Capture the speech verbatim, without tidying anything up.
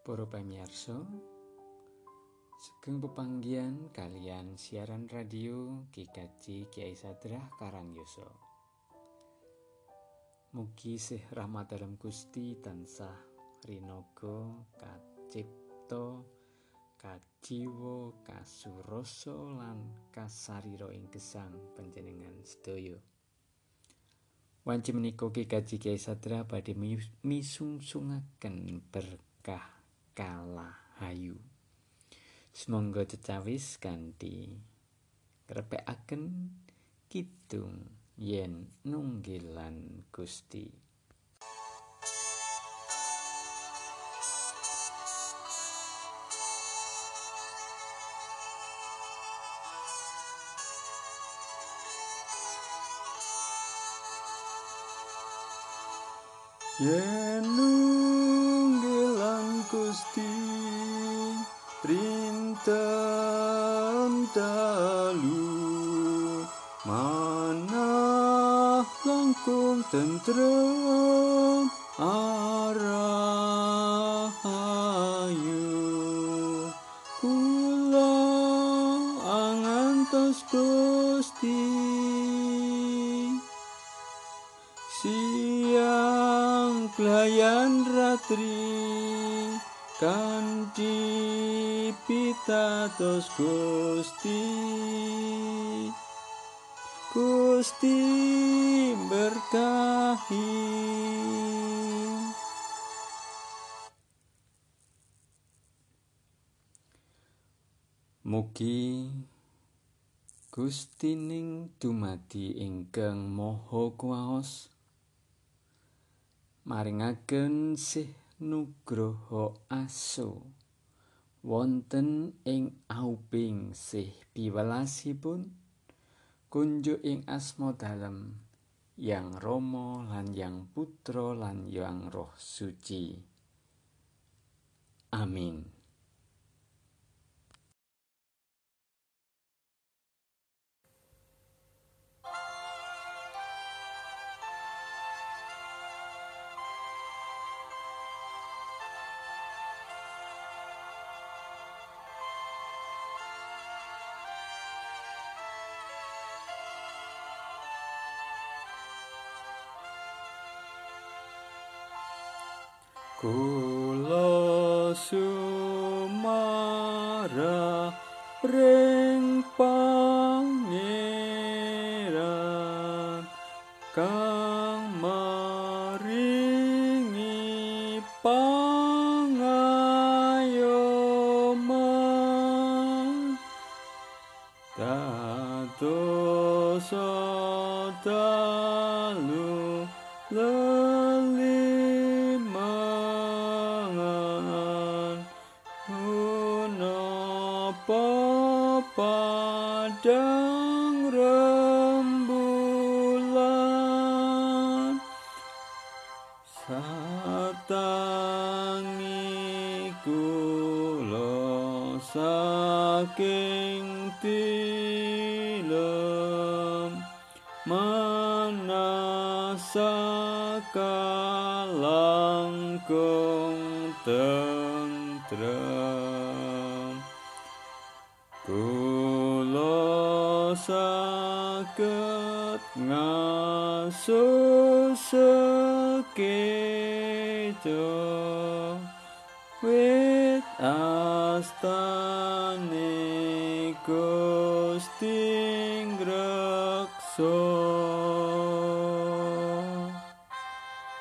Para pamirsa, sugeng pepanggihan kalian siaran radio Ki Kaji Kyai Sadrah Karangyoso. Mugi sih rahmat dalam Gusti tansah rinaga kacipta, kajiwa, kasurasa lan kasarira ing gesang panjenengan sedaya. Wanci menika Ki Kaji Kyai Sadrah badhe misungsungaken berkah kalahayu. Semangga cecawis kanthi krepekaken kidung yen nunggilan Gusti. Yen nunggilan Gusti rinten dalu manah langkung tentrem arahayu kula angantos Gusti siang pelayan ratri kanthi pitados Gusti Gusti berkahi. Mugi Gustining dumadi ingkang maha kuwaos maringaken sih nugraha aso wonten ing auping sih piwelasipun kunjuk ing asma dalem Yang Rama lan Yang Putra lan Yang Roh Suci. Amin. Kula sumara ring Pangeran kang maringi pangayoman dados dalu lelimangan punapa padang rembulan satangi kula saking tilem manasaka langkung tentrem kula saged ngasusekeca wit astane Gusti ngreksa